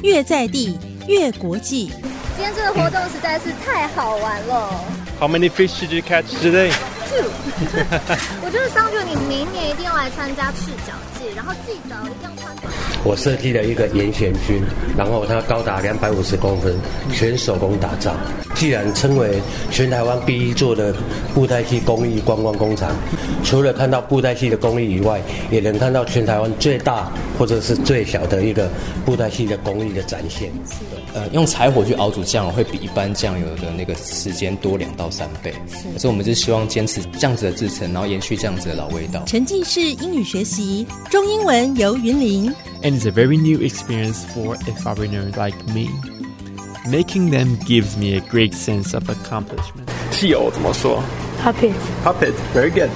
越在地越国际。 今天这个活动实在是太好玩了。 How many fish did you catch today? 2。我觉得桑觉，你明年一定要来参加赤脚季，然后记得一定要穿短。 我设计了一个严选军，然后它高达250公分，全手工打造。既然称为全台湾第一座的布袋戏工艺观光工厂，除了看到布袋戏的工艺以外，也能看到全台湾最大或者是最小的一个布袋戏的工艺的展现。 用柴火去熬煮酱油会比一般酱油的那个时间多2到3倍，所以我们就希望坚持这样子的制程，然后延续这样子的老味道。 沉浸式英语学习，中英文游云林。 And it's a very new experience for a foreigner like me. Making them gives me a great sense of accomplishment. 戏偶怎么说 Puppet. Puppet. Very good.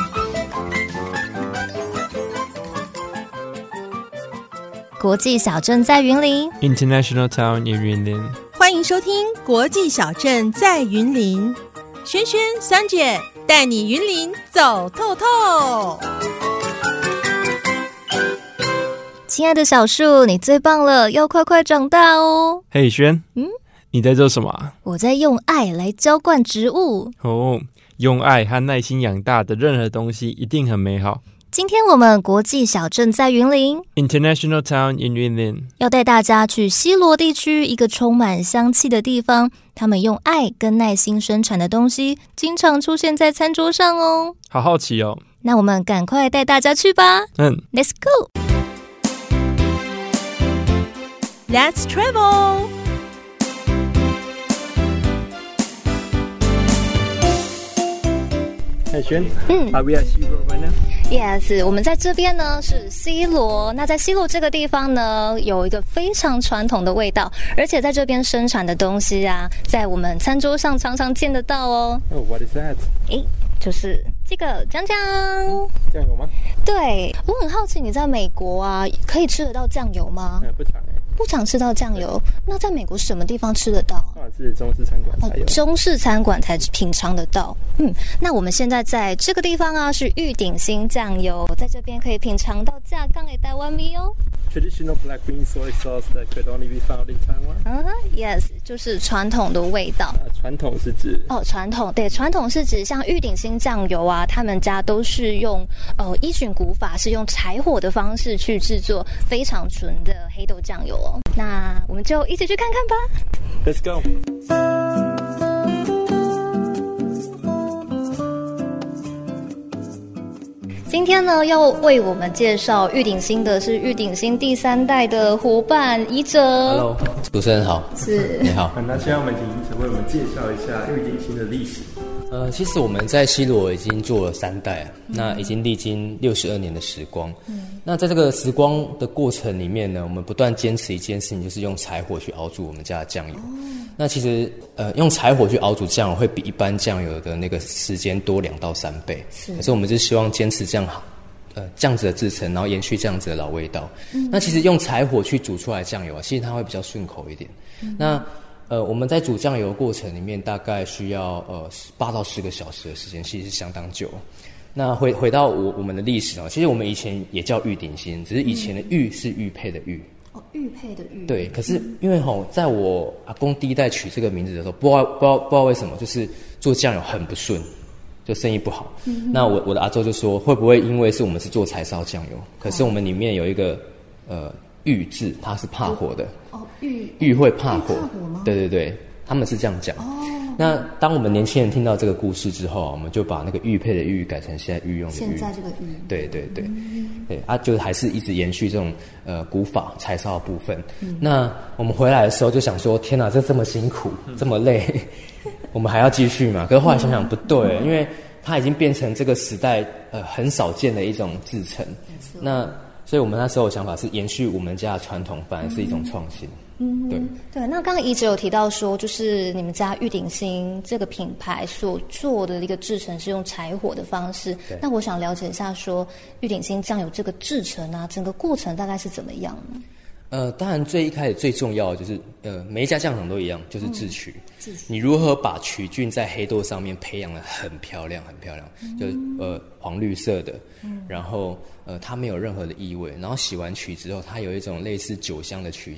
国际小镇在云林 International Town in 云林。 欢迎收听国际小镇在云林，轩轩香姐带你云林走透透。 亲爱的小树，你最棒了，要快快长大哦。 嘿，轩，你在做什么啊？ 我在用爱来浇灌植物。 哦，用爱和耐心养大的任何东西一定很美好。 今天我们国际小镇在云林 International Town in 云林， 要带大家去西螺地区一个充满香气的地方，他们用爱跟耐心生产的东西经常出现在餐桌上哦。 好好奇哦。 那我们赶快带大家去吧。Let's go。 Let's travel。 hey, 轩，Are we at 西螺 right now? Yes， 我们在这边呢是西螺。那在西螺这个地方呢，有一个非常传统的味道，而且在这边生产的东西啊，在我们餐桌上常常见得到哦。 Oh, what is that? 就是这个酱酱。 酱油吗？ 对，我很好奇，你在美国啊，可以吃得到酱油吗？ 不常不常吃到酱油。那在美国什么地方吃得到？ 当然是中式餐馆才有。 中式餐馆才品尝得到。那我们现在在这个地方啊，是玉鼎新酱油，在这边可以品尝到架杠的台湾米哦。 Traditional black bean soy sauce that could only be found in Taiwan. Yes， 就是传统的味道。 传统是指传统是指像玉鼎新酱油啊，他们家都是用依循古法，是用柴火的方式去制作非常纯的黑豆酱油哦。那我们就一起去看看吧。 Let's go。 今天呢，要为我们介绍玉鼎新的是玉鼎新第3代的伙伴宜哲。 Hello， 主持人好。 是， 你好。 那现在我们请宜哲为我们介绍一下玉鼎新的历史。 其实我们在西螺已经做了3代，那已经历经62年的时光。那在这个时光的过程里面呢，我们不断坚持一件事情，就是用柴火去熬煮我们家的酱油。那其实用柴火去熬煮酱油会比一般酱油的那个时间多2到3倍，可是我们就希望坚持这样子的制程，然后延续这样子的老味道。那其实用柴火去煮出来的酱油啊，其实它会比较顺口一点。那我们在煮酱油的过程里面，大概需要8到10个小时的时间，其实是相当久。那回到我们的历史啊，其实我们以前也叫玉鼎新，只是以前的玉是玉佩的玉。 玉佩的玉。对， 可是因为在我阿公第1代取这个名字的时候，不知道为什么，就是做酱油很不顺，就生意不好。那我的阿周就说，会不会因为是我们是做柴烧酱油，可是我们里面有一个玉字，它是怕火的。玉会怕火。对，他们是这样讲。那当我们年轻人听到这个故事之后，我们就把那个玉佩的玉改成现在御用的玉。 现在这个玉。对， 就还是一直延续这种古法柴烧的部分。那我们回来的时候就想说，天哪，这么辛苦，这么累，我们还要继续嘛？可是后来想想不对，因为它已经变成这个时代很少见的一种制程。那所以我们那时候的想法是延续我们家的传统，反而是一种创新。 对。那刚刚宜哲有提到说，就是你们家玉鼎新这个品牌所做的一个制程是用柴火的方式。那我想了解一下，说玉鼎新酱油这个制程啊，整个过程大概是怎么样呢？ 当然最一开始最重要的就是每一家酱厂都一样，就是制曲。你如何把曲菌在黑豆上面培养得很漂亮，就是黄绿色的，然后它没有任何的异味，然后洗完曲之后，它有一种类似酒香的曲香。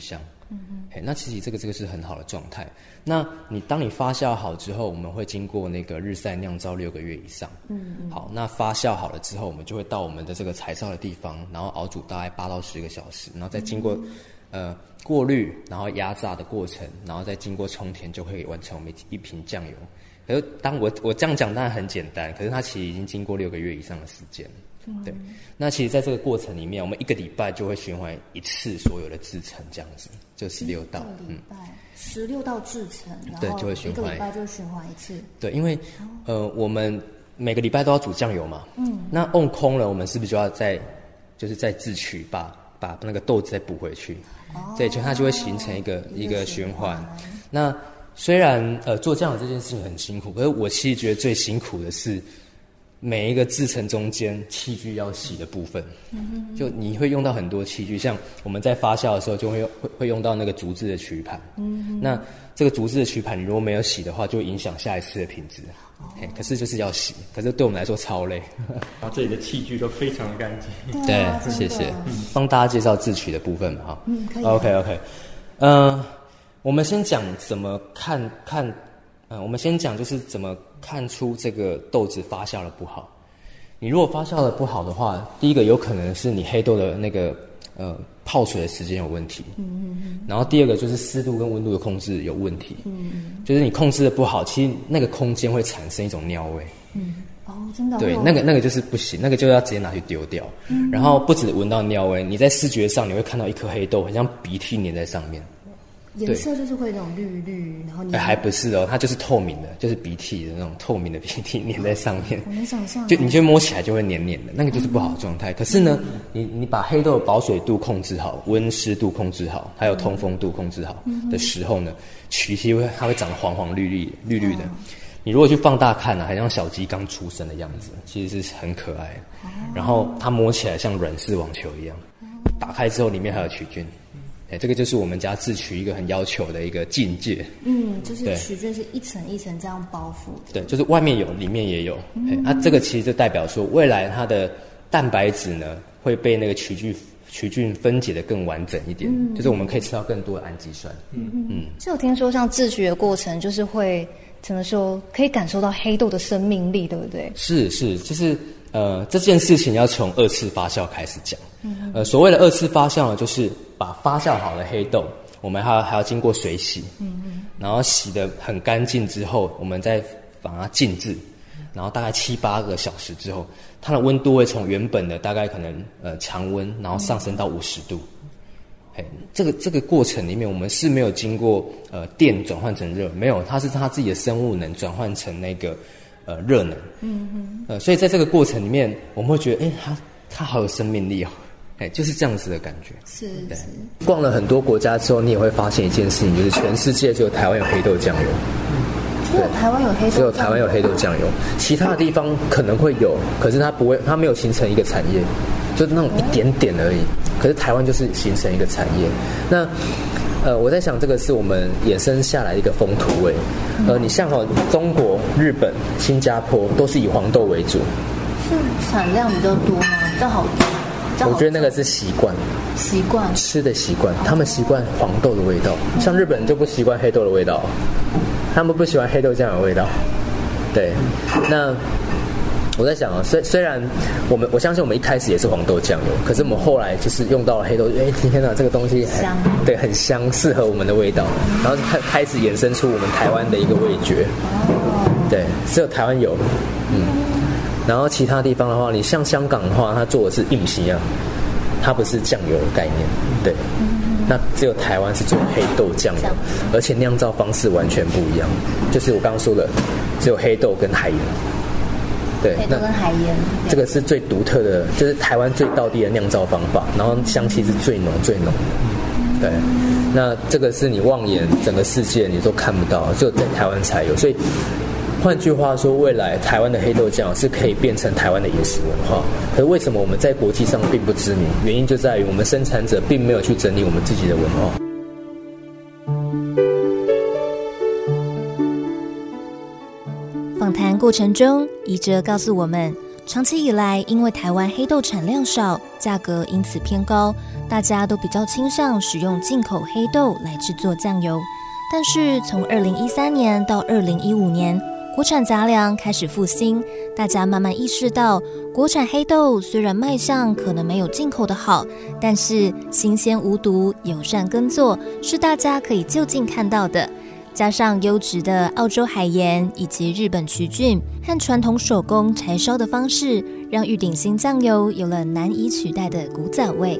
那其实这个是很好的状态。那当你发酵好之后，我们会经过那个日晒酿造6个月以上。好，那发酵好了之后，我们就会到我们的这个柴烧的地方，然后熬煮大概8到10个小时，然后再经过过滤，然后压榨的过程，然后再经过冲填，就会完成我们一瓶酱油。可是当我这样讲当然很简单，可是它其实已经经过6个月以上的时间。对，那其实在这个过程里面，我们1个礼拜就会循环一次所有的制程，这样子就16道。 1个礼拜16道制程，然后对，就会循环 1个礼拜就循环一次。 对，因为我们每个礼拜都要煮酱油嘛。那瓮空了，我们是不是就要再自取，把那个豆子再补回去？对，就它就会形成一个循环。那虽然做酱油这件事情很辛苦，可是我其实觉得最辛苦的是每一个制程中间器具要洗的部分。就你会用到很多器具，像我们在发酵的时候就会用到那个竹制的曲盘。那这个竹制的曲盘你如果没有洗的话，就会影响下一次的品质。可是就是要洗，可是对我们来说超累。 然后这里的器具都非常的干净。 对，谢谢。帮大家介绍制曲的部分嘛，哈。 可以。 OK。我们先讲怎么看，我们先讲就是怎么看出这个豆子发酵的不好。你如果发酵的不好的话，第一个有可能是你黑豆的那个泡水的时间有问题。然后第二个就是湿度跟温度的控制有问题。就是你控制的不好，其实那个空间会产生一种尿味。 真的。 对，那个就是不行，那个就要直接拿去丢掉。然后不止闻到尿味，你在视觉上你会看到一颗黑豆很像鼻涕粘在上面。 颜色就是会那种绿，然后还不是哦，它就是透明的，就是鼻涕的那种透明的鼻涕粘在上面。 我能想象。 就你就摸起来就会黏黏的，那个就是不好的状态。可是呢，你把黑豆的保水度控制好，温湿度控制好，还有通风度控制好的时候呢，曲其实它会长得黄黄绿的。你如果去放大看啊，很像小鸡刚出生的样子，其实是很可爱。然后它摸起来像软式网球一样，打开之后里面还有曲菌。这个就是我们家制曲一个很要求的一个境界。 就是曲菌是一层一层这样包覆的。 对，就是外面有，里面也有。这个其实就代表说，未来它的蛋白质呢会被那个曲菌分解的更完整一点，就是我们可以吃到更多的氨基酸。 是有听说像制曲的过程，就是会怎么说，可以感受到黑豆的生命力，对不对？ 是，就是这件事情要从2次发酵开始讲。所谓的2次发酵呢，就是把发酵好的黑豆，我们还要经过水洗，然后洗得很干净之后，我们再把它静置，然后大概7-8个小时之后，它的温度会从原本的大概可能常温，然后上升到50度。这个过程里面，我们是没有经过电转换成热，没有，它是它自己的生物能转换成那个热能。所以在这个过程里面，我们会觉得，它好有生命力哦。就是这样子的感觉。 是。 逛了很多国家之后，你也会发现一件事情，就是全世界只有台湾有黑豆酱油。 只有台湾有黑豆酱油。 只有台湾有黑豆酱油，其他的地方可能会有，可是它没有形成一个产业，就是那种一点点而已。可是台湾就是形成一个产业。那我在想，这个是我们衍生下来的一个风土味。你像中国、日本、新加坡都是以黄豆为主。 是产量比较多吗？比较好吃。 我觉得那个是习惯吃的习惯，他们习惯黄豆的味道，像日本人就不习惯黑豆的味道，他们不喜欢黑豆酱油的味道。对，那我在想啊，虽然我相信我们一开始也是黄豆酱油，可是我们后来就是用到了黑豆，天哪，这个东西香，对，很香，适合我们的味道，然后开始衍生出我们台湾的一个味觉。对，只有台湾有，然后其他地方的话，你像香港的话，它做的是硬皮啊，它不是酱油的概念。对，那只有台湾是做黑豆酱油，而且酿造方式完全不一样，就是我刚刚说的，只有黑豆跟海盐。对， 黑豆跟海盐， 这个是最独特的，就是台湾最道地的酿造方法，然后香气是最浓最浓。对，那这个是你望眼整个世界你都看不到，只有在台湾才有，所以。换句话说，未来台湾的黑豆酱是可以变成台湾的饮食文化。可是为什么我们在国际上并不知名？原因就在于我们生产者并没有去整理我们自己的文化。 访谈过程中，宜哲告诉我们，长期以来因为台湾黑豆产量少， 价格因此偏高，大家都比较倾向使用进口黑豆来制作酱油。但是从2013年到2015年，国产杂粮开始复兴，大家慢慢意识到，国产黑豆虽然卖相可能没有进口的好，但是新鲜无毒、友善耕作是大家可以就近看到的。加上优质的澳洲海盐以及日本曲菌和传统手工柴烧的方式，让玉鼎新酱油有了难以取代的古早味。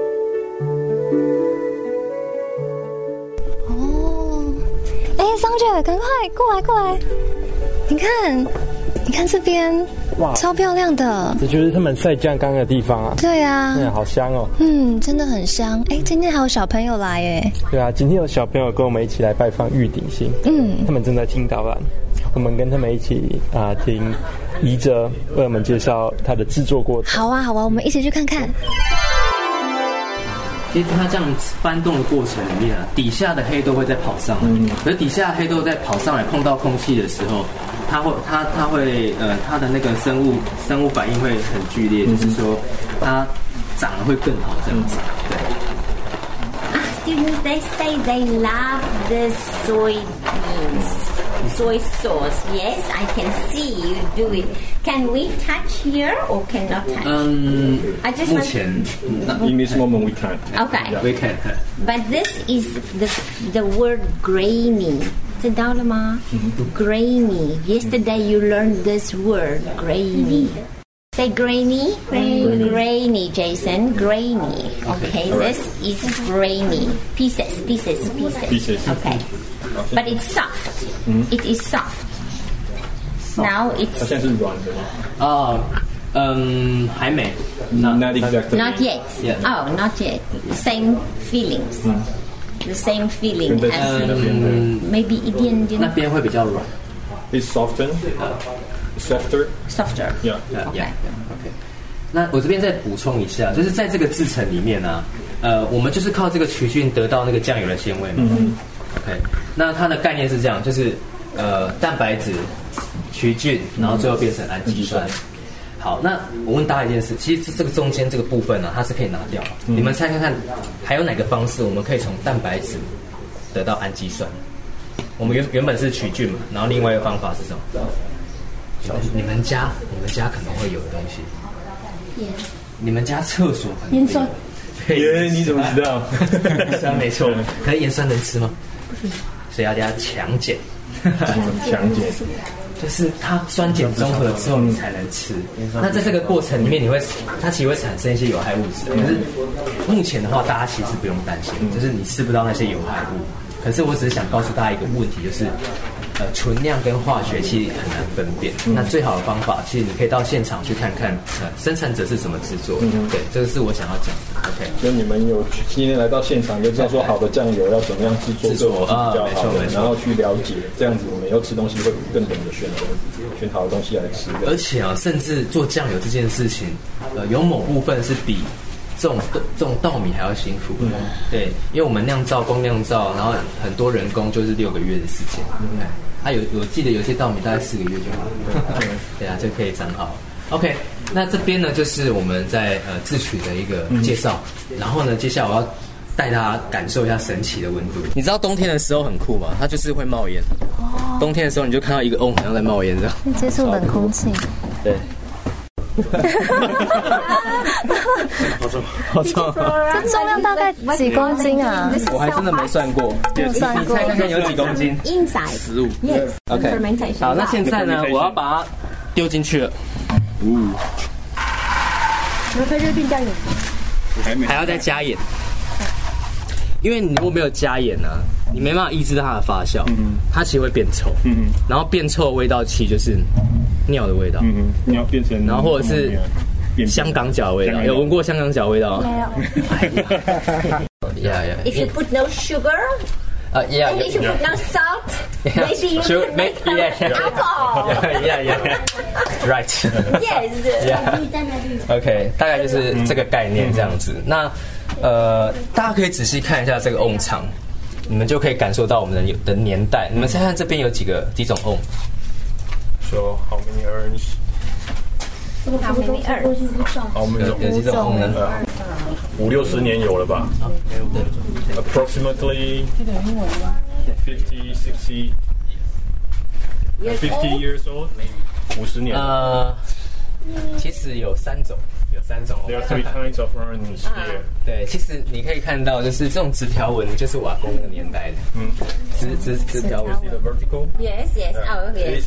桑姐，赶快过来！你看这边，哇，超漂亮的。 这就是他们晒酱缸的地方啊。 对啊， 好香哦。 真的很香。今天还有小朋友来耶。 对啊，今天有小朋友跟我们一起来拜访玉鼎新。他们正在听导览，我们跟他们一起听怡哲为我们介绍它的制作过程。 好啊，我们一起去看看。 其实它这样翻动的过程里面底下的黑豆会在跑上来，可是底下的黑豆在跑上来碰到空气的时候，它会它的那个生物反应会很剧烈，就是说它长得会更好这样子。对。 Students, they say they love the soy sauce. Yes, I can see you do it. Can we touch here or cannot touch? I just 目前 in this moment we can't. Okay. Yeah, we can. But this is the word grainy. 知道了吗？ Grainy. Yesterday you learned this word, grainy. Say grainy. Grainy, Jason. Grainy. Okay, this is grainy. Pieces. Okay. But it's soft. It is soft. Now it's. 它现在是软的吗？ 还没。 Not exactly. Not yet. Yeah. Oh, not yet. Same feelings. The same feeling as maybe 一点点。 那边会比较软。 It's softer. Softer. Yeah. Okay. 那我这边再补充一下，就是在这个制程里面呢，我们就是靠这个曲菌得到那个酱油的鲜味嘛。OK， 那它的概念是这样，就是蛋白质、曲菌，然后最后变成氨基酸。好，那我问大家一件事，其实这个中间这个部分呢，它是可以拿掉。你们猜看看，还有哪个方式我们可以从蛋白质得到氨基酸？我们原本是曲菌嘛，然后另外一个方法是什么？你们家可能会有的东西。你们家厕所可能盐酸。 你怎么知道？ 盐酸没错，可是盐酸能吃吗？不行，所以要加强碱。 强碱就是它酸碱中和之后你才能吃。那在这个过程里面，它其实会产生一些有害物质。可是目前的话，大家其实不用担心，就是你吃不到那些有害物。可是我只是想告诉大家一个问题，就是纯酿跟化学其实很难分辨。那最好的方法，其实你可以到现场去看看，生产者是怎么制作的。对，这个是我想要讲的。OK， 所以你们有今天来到现场，就知道说好的酱油要怎么样制作是比较好的，然后去了解，这样子我们以后吃东西会更懂得选好的东西来吃。 而且甚至做酱油这件事情，有某部分是比这种稻米还要辛苦。对，因为我们光酿造，然后很多人工就是6个月的时间。我记得有些稻米大概4个月就好了。对啊，就可以长好。OK， 那这边呢就是我们在制曲的一个介绍，然后呢，接下来我要带大家感受一下神奇的温度。你知道冬天的时候很酷吗？它就是会冒烟。冬天的时候你就看到一个瓮好像在冒烟这样。 接触冷空气。 对。好重！ 这重量大概几公斤啊？ 我还真的没算过。 没算过。 你猜看看有几公斤 ？15。Yes. OK。好，那现在呢，我要把它丢进去了。 那在这边加盐。 还要再加盐。因为你如果没有加盐呢，你没办法抑制它的发酵，它其实会变臭。然后变臭的味道其实就是尿的味道。 尿变成， 然后或者是香港脚的味道。有闻过香港脚的味道吗？ 没有。If you put no sugar. Yeah. And if you put no salt, maybe you can make alcohol. Yeah. Right. Yes. Yeah. OK， 大概就是这个概念这样子。那大家可以仔细看一下这个瓮长，你们就可以感受到我们的年代。你们猜看这边有几种瓮 ？So how many urns? How many urns? 好，我们有几种 ？50-60年有了吧？Approximately 50 years old. 50年。 其实有3种。 There are 3 kinds of urns here. 对，其实你可以看到，就是这种直条纹，就是我阿公那个年代的。直条纹。 See the vertical? Yes. Oh, yes.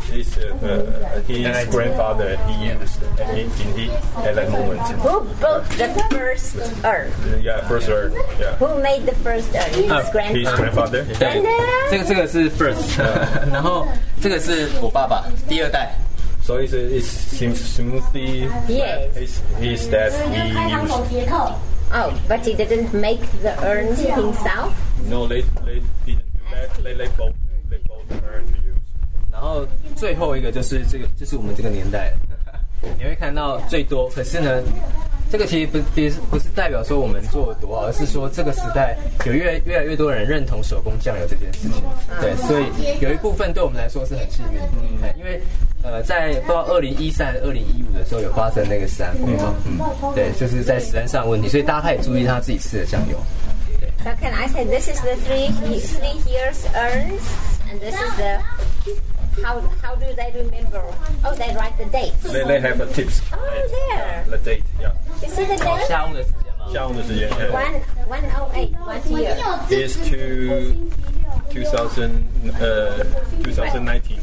His grandfather he used at that moment. Who built the first urn? Yeah, first urn. Yeah. Who made the first urn? His grandfather. 对，这个是 first， 然后这个是我爸爸第2代。 So it seems smoothly. Yes. His dad he used. Oh, but he didn't make the urns himself? No, they didn't do that. They both urn to use. 然后最后一个就是这个，就是我们这个年代，你会看到最多。可是呢，这个其实不是代表说我们做得多好，而是说这个时代有越来越多人认同手工酱油这件事情。对，所以有一部分对我们来说是很幸运的，因为在不知道2013、2015的时候有发生那个食安风暴，对，就是在食安上的问题，所以大家开始注意他自己吃的酱油。 So can I say this is the 3 years urns, and this is the how do they remember? Oh, they write the dates. They have a tips. Oh, there. The date, yeah. You see the date? 下午的时间吗？ 下午的时间。 108. What year? Is to 2019.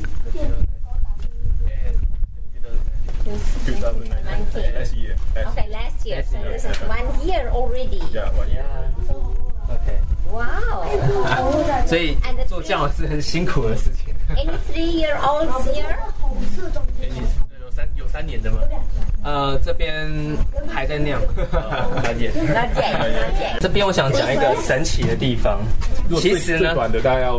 2019. Last year. Okay, last year. So this is 1 year already. Yeah, 1 year. OK. Wow. 所以做酱油是很辛苦的事情。 Any 3-year-olds here? 有3年的吗？这边还在酿。 Not yet. 这边我想讲一个神奇的地方。其实呢， 最短的大概要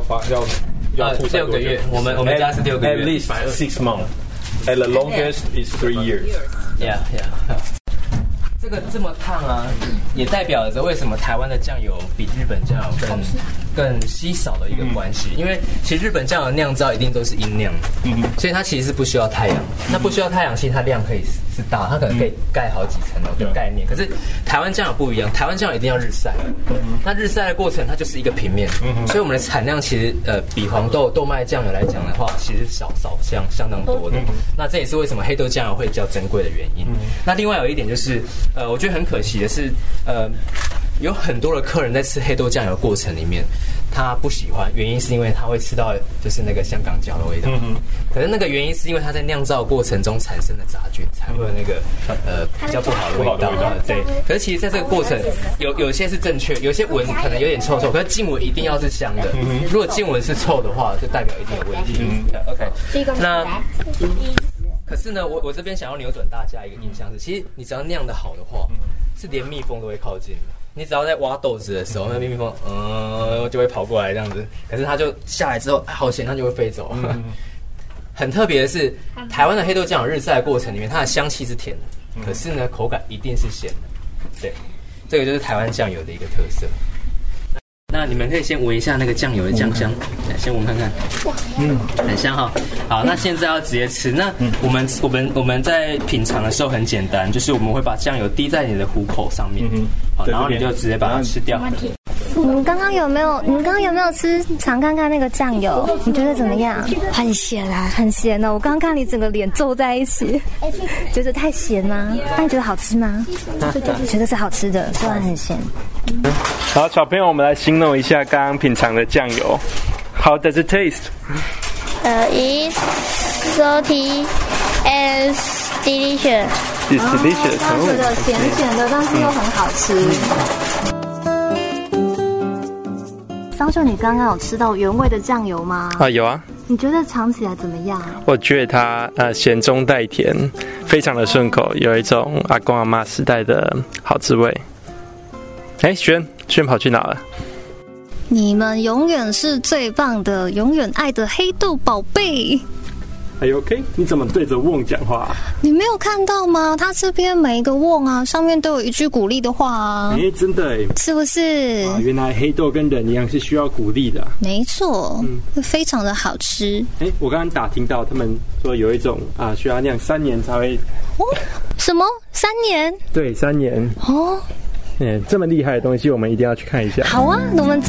6个月。我们家是6个月。 At least 6 months. At the longest is 3 years. Yeah. 这个这么烫啊，也代表着为什么台湾的酱油比日本酱油更稀少的一个关系。因为其实日本酱油酿造一定都是阴酿，所以它其实是不需要太阳。那不需要太阳，其实它量可以是大，它可能可以盖好几层的概念。可是台湾酱油不一样，台湾酱油一定要日晒。那日晒的过程它就是一个平面，所以我们的产量其实比黄豆豆麦酱油来讲的话，其实相当多的。那这也是为什么黑豆酱油会比较珍贵的原因。那另外有一点就是。我觉得很可惜的是，有很多的客人在吃黑豆酱油的过程里面，他不喜欢，原因是因为他会吃到就是那个香港脚的味道。可是那个原因是因为他在酿造过程中产生的杂菌，才会有那个比较不好的味道。对。可是其实在这个过程，有些是正确，有些闻可能有点臭，可是浸闻一定要是香的。如果浸闻是臭的话，就代表一定有问题。OK， 那。可是呢，我这边想要扭转大家一个印象是，其实你只要酿得好的话，是连蜜蜂都会靠近的。你只要在挖豆子的时候，那蜜蜂就会跑过来这样子。可是它就下来之后，好咸，它就会飞走。很特别的是，台湾的黑豆酱油日晒的过程里面，它的香气是甜的，可是呢，口感一定是咸的。对，这个就是台湾酱油的一个特色。那你们可以先闻一下那个酱油的酱香，先闻看看。很香哈。好，那现在要直接吃。那我们在品尝的时候很简单，就是我们会把酱油滴在你的虎口上面，好，然后你就直接把它吃掉。 你们刚刚有没有尝看看那个酱油？你觉得怎么样？很咸啊，很咸哦！我刚刚看你整个脸皱在一起，觉得太咸吗？那你觉得好吃吗？觉得是好吃的，虽然很咸。 好，小朋友，我们来形容一下刚刚品尝的酱油。How does it taste? It's salty and delicious. It's delicious. 我觉得咸咸的，但是又很好吃。桑萱，你刚刚有吃到原味的酱油吗？ 有啊。 你觉得尝起来怎么样？ 我觉得它咸中带甜，非常的顺口，有一种阿公阿嬷时代的好滋味。轩跑去哪了？ 你们永远是最棒的，永远爱的黑豆宝贝。 哎 ，OK， 你怎么对着瓮讲话啊？ 你没有看到吗？他这边每一个瓮啊，上面都有一句鼓励的话啊。 真的是不是？ 原来黑豆跟人一样是需要鼓励的啊。 没错，会非常的好吃。 我刚刚打听到他们说有一种需要酿3年才会。 什么？3年？ 对，3年。哦。这么厉害的东西，我们一定要去看一下。 好啊，那我们走。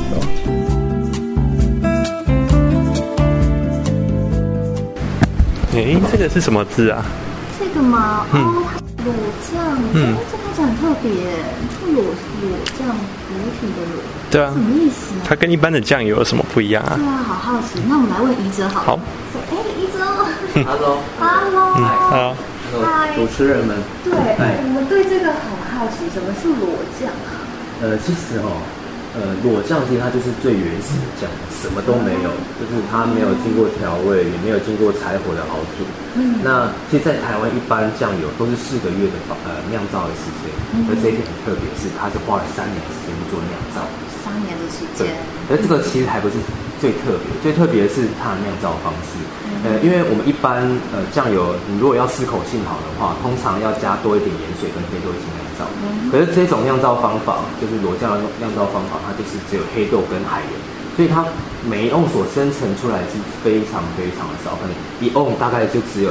这个是什么字啊？ 这个吗？裸酱。这看起来很特别，这个裸酱，裸体的裸。 对啊。 什么意思啊？ 它跟一般的酱油有什么不一样啊？ 对啊，好好奇。那我们来问宜哲好了。好。宜哲。 Hello。 好。 主持人们。 对，我们对这个很好奇，什么是裸酱啊？ 其实裸酱其实它就是最原始的酱，什么都没有，就是它没有经过调味，也没有经过柴火的熬煮。那其实，在台湾一般酱油都是4个月的酿造的时间，而这一点很特别，是它是花了3年的时间去做酿造。 3年的时间。 而这个其实还不是最特别，最特别的是它的酿造方式。因为我们一般酱油，你如果要适口性好的话，通常要加多一点盐水跟黑豆一起酿造。可是这种酿造方法，就是裸酱的酿造方法，它就是只有黑豆跟海盐，所以它每一瓮所生成出来是非常非常的少，可能一瓮大概就只有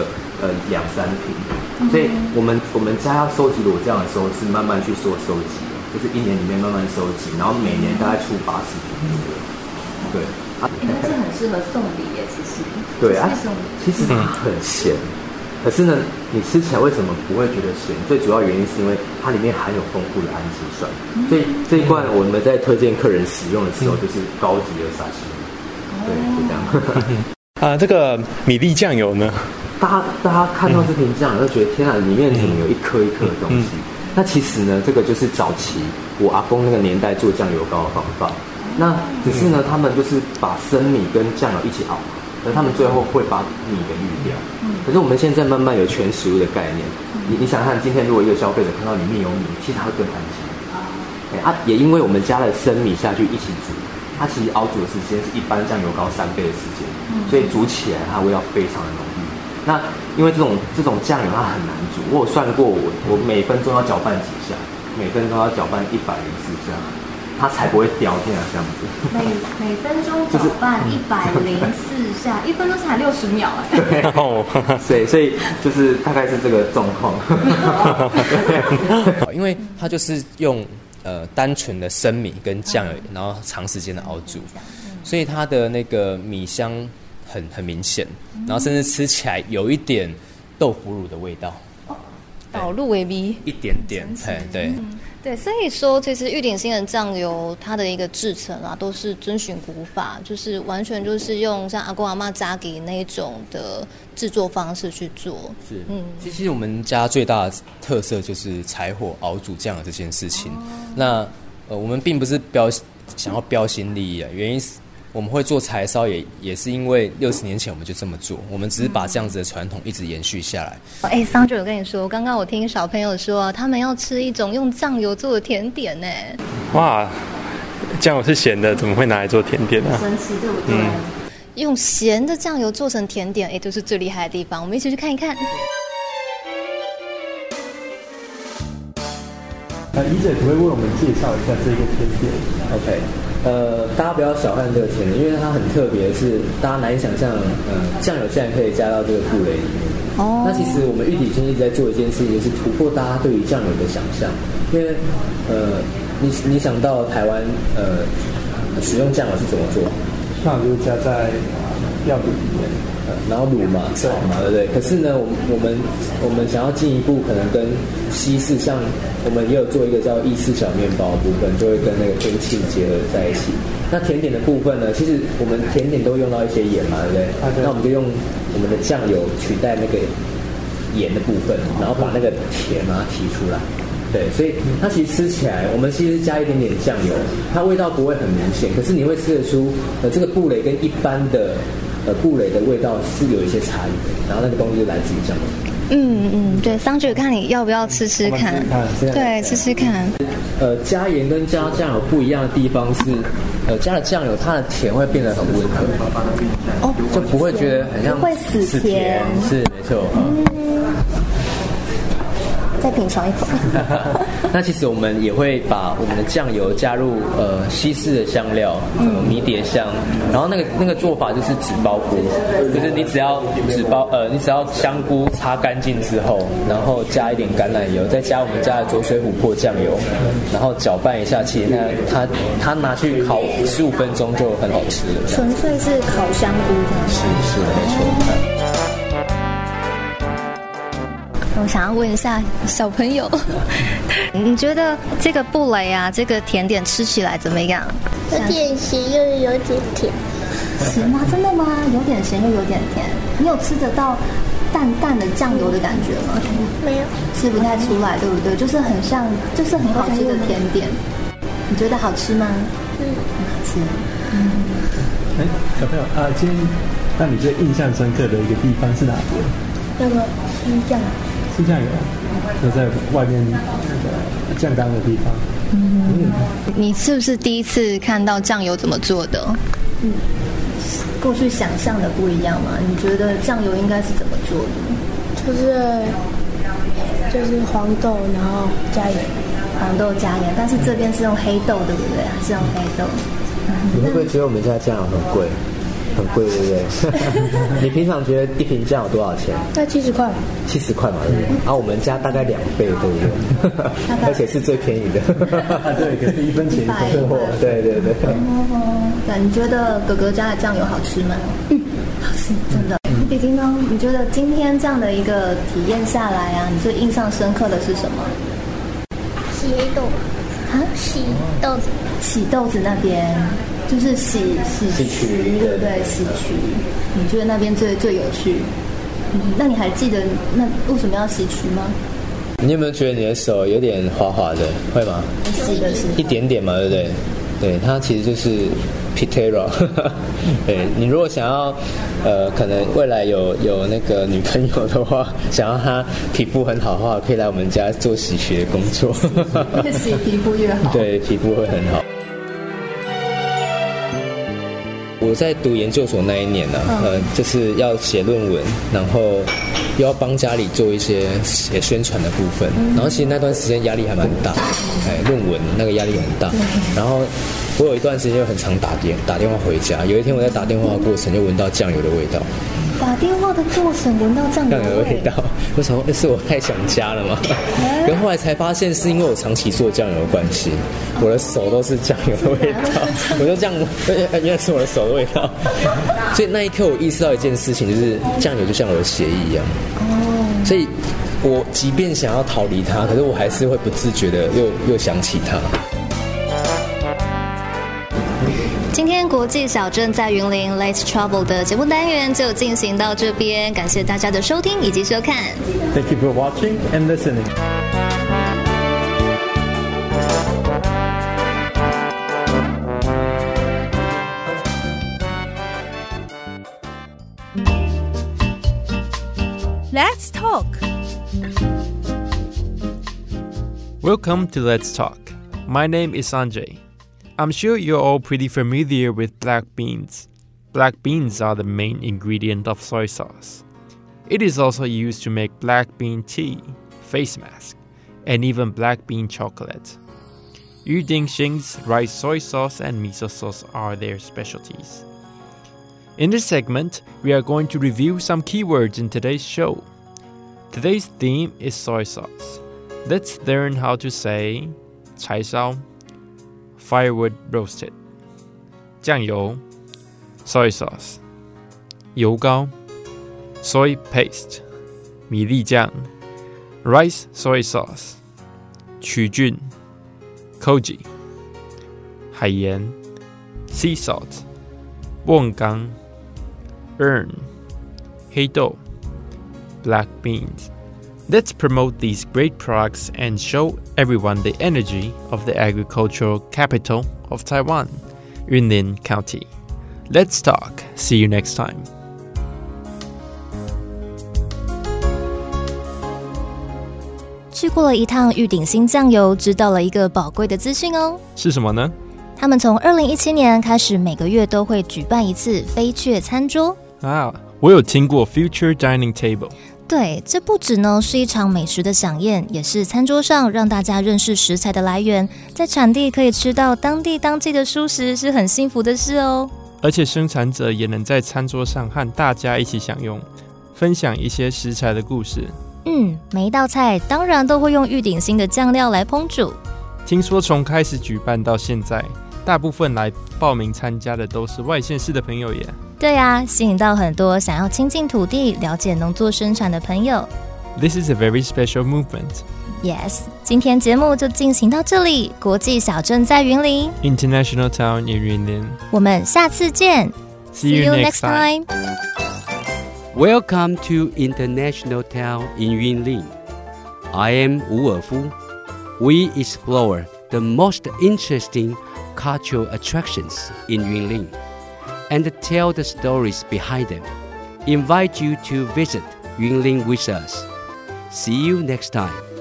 2-3瓶。所以我们家要收集裸酱的时候，是慢慢去做收集的，就是1年里面慢慢收集，然后每年大概出80瓶。对。 这很适合送礼耶，其实。 对啊，其实它很咸，可是呢，你吃起来为什么不会觉得咸？最主要原因是因为它里面含有丰富的氨基酸，所以这一罐我们在推荐客人使用的时候，就是高级的沙西米。对，就这样。这个米粒酱油呢？ 大家看到这瓶酱油，就觉得天啊，里面怎么有一颗一颗的东西？那其实呢，这个就是早期我阿公那个年代做酱油膏的方法。那只是呢，他们就是把生米跟酱油一起熬，而他们最后会把米给滤掉。可是我们现在慢慢有全食物的概念，你想看，今天如果一个消费者看到里面有米，其实他会更安心。也因为我们加了生米下去一起煮，它其实熬煮的时间是一般酱油膏3倍的时间，所以煮起来它味道非常的浓郁。那因为这种酱油它很难煮，我有算过，我每分钟要搅拌几下，每分钟要搅拌104下。它才不会掉进来这样子。 每分钟搅拌104下，1分钟才60秒对，所以就是大概是这个状况。 因为它就是用单纯的生米跟酱油，然后长时间的熬煮，所以它的那个米香很明显，然后甚至吃起来有一点豆腐乳的味道。 导入为米一点点，对。 对，所以说其实玉鼎新的酱油它的一个制成啊，都是遵循古法，就是完全就是用像阿公阿嬷家给那一种的制作方式去做。 是，其实我们家最大的特色就是柴火熬煮酱油这件事情。那我们并不是想要标新立异啊，原因是我们会做柴烧也是因为60年前我们就这么做，我们只是把这样子的传统一直延续下来。 桑姐，我跟你说，刚刚我听小朋友说他们要吃一种用酱油做的甜点呢。 哇，酱油是咸的，怎么会拿来做甜点呢？ 神奇，对不对？用咸的酱油做成甜点，这是最厉害的地方。我们一起去看一看。 怡姐，可不可以为我们介绍一下这个甜点 ？OK，大家不要小看这个甜点，因为它很特别的是，大家难以想象，酱油竟然可以加到这个布雷里面。那其实我们玉鼎新一直在做一件事情，就是突破大家对于酱油的想象。因为你想到台湾使用酱油是怎么做？ 酱油就加在料理里面。 然后卤嘛、炒嘛，对不对？可是呢，我们想要进一步，可能跟西式，像我们也有做一个叫意式小面包的部分，就会跟那个天气结合在一起。那甜点的部分呢，其实我们甜点都用到一些盐嘛，对不对？那我们就用我们的酱油取代那个盐的部分，然后把那个甜把它提出来。对，所以它其实吃起来，我们其实加一点点酱油，它味道不会很明显，可是你会吃得出，这个布蕾跟一般的布蕾的味道是有一些差异的，然后那个东西就来自于酱油。 对，桑姐，看你要不要吃吃看？对，吃吃看。 加盐跟加酱油不一样的地方是， 加了酱油，它的甜会变得很温和，就不会觉得很像会死甜， 是没错。 再品尝一口。 那其实我们也会把我们的酱油加入西式的香料，迷迭香，然后那个做法就是纸包菇，就是你只要香菇擦干净之后，然后加一点橄榄油，再加我们家的浊水琥珀酱油，然后搅拌一下，其实它拿去烤15分钟就很好吃了。 纯粹是烤香菇这样。 是没错。 我想要问一下小朋友，你觉得这个布蕾啊，这个甜点吃起来怎么样？ 有点咸又有点甜。 咸吗？真的吗？有点咸又有点甜。你有吃得到淡淡的酱油的感觉吗？ 没有， 吃不太出来，对不对？就是很像，就是很好吃的甜点。你觉得好吃吗？很好吃。 小朋友啊，今天让你最印象深刻的一个地方是哪边？ 那个酱。 是酱油，就在外面酱缸的地方。 你是不是第一次看到酱油怎么做的？过去想象的不一样吗？你觉得酱油应该是怎么做的？就是黄豆，然后加盐。 黄豆加盐，但是这边是用黑豆，对不对？还是用黑豆？ 你会不会觉得我们家酱油很贵？很贵，对不对？你平常觉得一瓶酱有多少钱？ 在70块。 70块嘛，对不对？我们家大概2倍，对不对？而且是最便宜的。 对，可是1分钱1分货。 对。 那你觉得哥哥家的酱油好吃吗？好吃，真的。弟弟呢？你觉得今天这样的一个体验下来啊，你最印象深刻的是什么？ 洗黑豆。洗豆子。 洗豆子那边。就是洗渠，对不对？洗渠，你觉得那边最有趣？那你还记得那为什么要洗渠吗？ 你有没有觉得你的手有点滑滑的？会吗？ 洗的是一点点嘛，对不对？对，它其实就是 Pitera。对，你如果想要可能未来有那个女朋友的话，想要她皮肤很好的话，可以来我们家做洗渠的工作。 越洗皮肤越好。 对，皮肤会很好。我在读研究所那一年呢，就是要写论文，然后又要帮家里做一些写宣传的部分，然后其实那段时间压力还蛮大，论文那个压力很大，然后我有一段时间就很常打电话回家，有一天我在打电话的过程就闻到酱油的味道。 打电话的过程闻到酱油的味道， 我想说是我太想家了吗？然后后来才发现是因为我长期做酱油的关系，我的手都是酱油的味道，我就这样，原来是我的手的味道。所以那一刻我意识到一件事情，就是酱油就像我的血液一样。所以我即便想要逃离它，可是我还是会不自觉的又想起它。 今天国际小镇在云林 Let's Travel 的节目单元就进行到这边，感谢大家的收听以及收看。 Thank you for watching and listening. Let's talk. Welcome to Let's Talk. My name is Sanjay. I'm sure you're all pretty familiar with black beans. Black beans are the main ingredient of soy sauce. It is also used to make black bean tea, face mask, and even black bean chocolate. Yu Ding Xing's rice soy sauce and miso sauce are their specialties. In this segment, we are going to review some keywords in today's show. Today's theme is soy sauce. Let's learn how to say 柴烧 firewood roasted, 酱油 soy sauce, 油膏 soy paste, 米粒酱 rice soy sauce, 曲菌 koji, 海盐 sea salt, 瓮缸 urn, 黑豆 black beans. Let's promote these great products and show everyone the energy of the agricultural capital of Taiwan, Yunlin County. Let's talk. See you next time. 去过了一趟玉鼎新酱油，知道了一个宝贵的资讯哦。 是什么呢？ 他们从2017年开始，每个月都会举办一次飞雀餐桌。 啊，我有听过 Future Dining Table。 对，这不只呢是一场美食的飨宴，也是餐桌上让大家认识食材的来源，在产地可以吃到当地当季的蔬食，是很幸福的事哦。 而且生产者也能在餐桌上和大家一起享用，分享一些食材的故事。 每一道菜当然都会用玉鼎新的酱料来烹煮。 听说从开始举办到现在，大部分来报名参加的都是外县市的朋友耶。 对啊，吸引到很多想要亲近土地、了解农作生产的朋友。 This is a very special movement. Yes， 今天节目就进行到这里。国际小镇在云林 ，International Town in Yunlin。 我们下次见。 See you next time. Welcome to International Town in Yunlin. I am Wu Erfu. We explore the most interesting cultural attractions in Yunlin and tell the stories behind them. Invite you to visit Yunlin with us. See you next time.